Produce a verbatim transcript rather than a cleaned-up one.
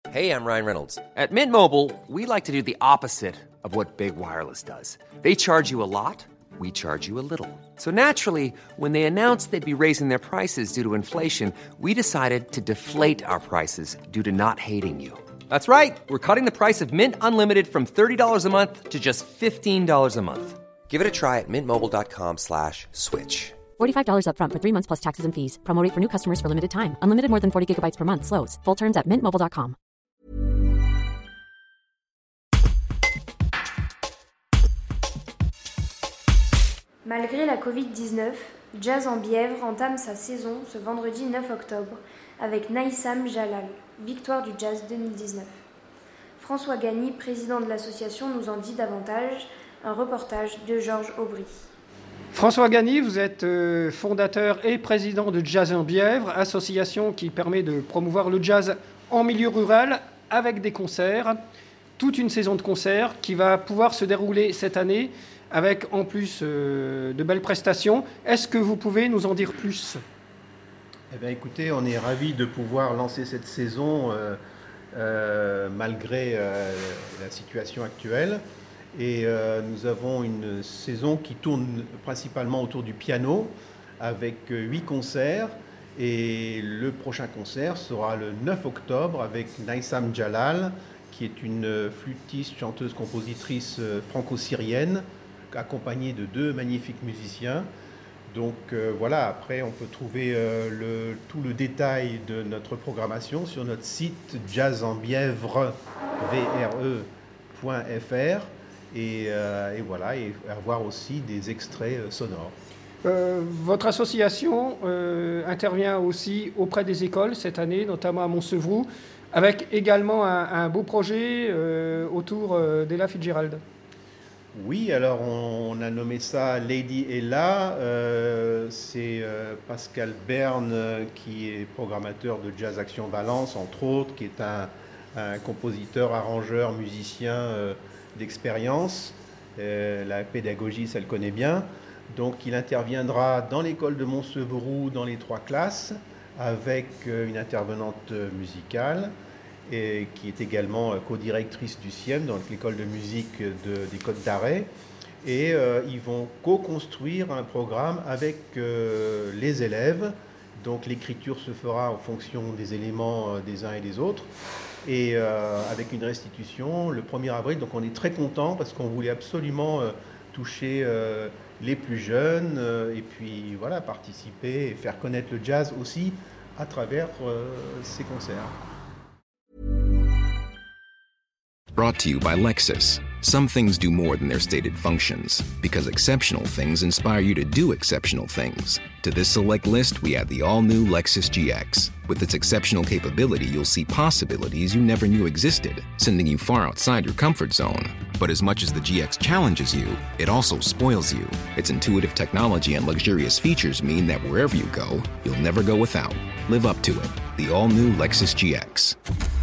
Hey, I'm Ryan Reynolds. At Mint Mobile, we like to do the opposite of what Big Wireless does. They charge you a lot, we charge you a little. So naturally, when they announced they'd be raising their prices due to inflation, we decided to deflate our prices due to not hating you. That's right. We're cutting the price of Mint Unlimited from thirty dollars a month to just fifteen dollars a month. Give it a try at mintmobile.com slash switch. forty-five dollars up front for three months plus taxes and fees. Promo rate for new customers for limited time. Unlimited more than forty gigabytes per month. Slows full terms at mint mobile dot com. Malgré la covid dix-neuf, Jazz en Bièvre entame sa saison ce vendredi neuf octobre avec Naïsam Jalal, victoire du Jazz deux mille dix-neuf. François Gagny, président de l'association, nous en dit davantage. Un reportage de Georges Aubry. François Gagny, vous êtes euh, fondateur et président de Jazz en Bièvre, association qui permet de promouvoir le jazz en milieu rural avec des concerts, toute une saison de concerts qui va pouvoir se dérouler cette année avec en plus euh, de belles prestations. Est-ce que vous pouvez nous en dire plus ? Eh bien, écoutez, on est ravis de pouvoir lancer cette saison euh, euh, malgré euh, la situation actuelle. Et euh, nous avons une saison qui tourne principalement autour du piano avec huit concerts. Et le prochain concert sera le neuf octobre avec Naïsam Jalal, qui est une flûtiste, chanteuse, compositrice franco-syrienne, accompagnée de deux magnifiques musiciens. Donc euh, voilà, après on peut trouver euh, le, tout le détail de notre programmation sur notre site jazz en bièvre point f r et, euh, et voilà, et avoir aussi des extraits euh, sonores. Euh, votre association euh, intervient aussi auprès des écoles cette année, notamment à Montsevrou, avec également un, un beau projet euh, autour euh, d'Ella Fitzgerald. Oui, alors on, on a nommé ça Lady Ella. Euh, c'est euh, Pascal Berne euh, qui est programmateur de Jazz Action Valence, entre autres, qui est un, un compositeur, arrangeur, musicien euh, d'expérience. Euh, la pédagogie, ça le connaît bien. Donc il interviendra dans l'école de Montsevrou dans les trois classes avec euh, une intervenante musicale, et qui est également co-directrice du C I E M, dans l'école de musique de, des Côtes d'Arrêt. Et euh, ils vont co-construire un programme avec euh, les élèves. Donc l'écriture se fera en fonction des éléments euh, des uns et des autres. Et euh, avec une restitution le premier avril. Donc on est très contents parce qu'on voulait absolument euh, toucher euh, les plus jeunes euh, et puis voilà, participer et faire connaître le jazz aussi à travers euh, ces concerts. Brought to you by Lexus. Some things do more than their stated functions, because exceptional things inspire you to do exceptional things. To this select list, we add the all-new Lexus G X. With its exceptional capability, you'll see possibilities you never knew existed, sending you far outside your comfort zone. But as much as the G X challenges you, it also spoils you. Its intuitive technology and luxurious features mean that wherever you go, you'll never go without. Live up to it. The all-new Lexus G X.